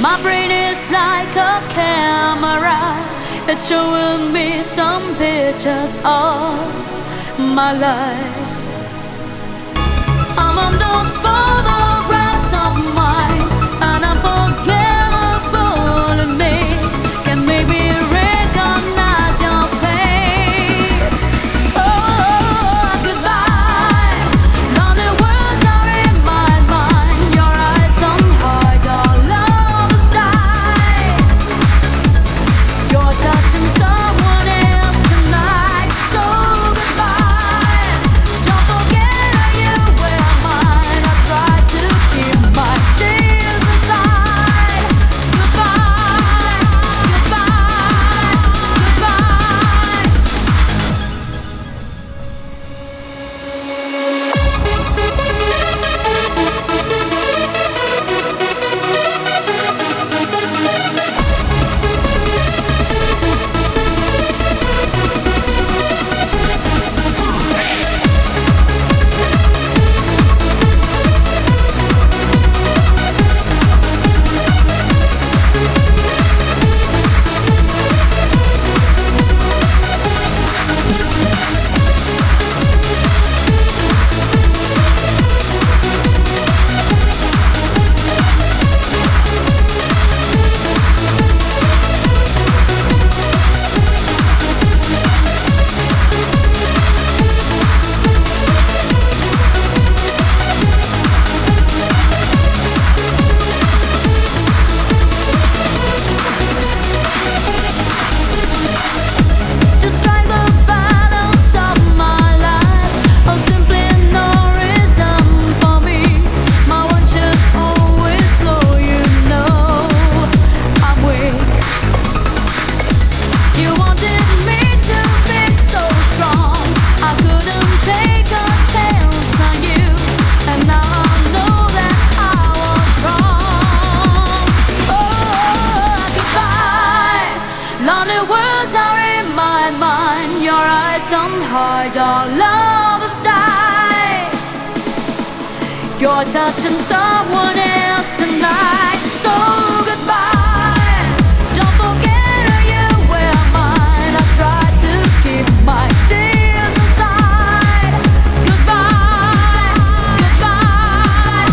My brain is like a camera. It's showing me some pictures of my life. I'm on those photographs of mine, and unforgettable in me can make me recognize your face. Oh, goodbye. Lonely words are in my mind. Your eyes don't hide your love's die. You're touching someone else tonight. So goodbye. Don't forget you were mine. I tried to keep my tears inside. Goodbye, goodbye, goodbye. Describe the balance of my life. Oh, simply no reason for me. My one should always slow, you know I'm weak. You wanted me to be so strong. I couldn't take a chance on you, and now I know that I was wrong. Oh, goodbye. Lonely words are in my mind. Your eyes don't hide your love's die. You're touching someone else tonight. So goodbye. Don't forget you were mine. I tried to keep my tears inside. Goodbye, goodbye,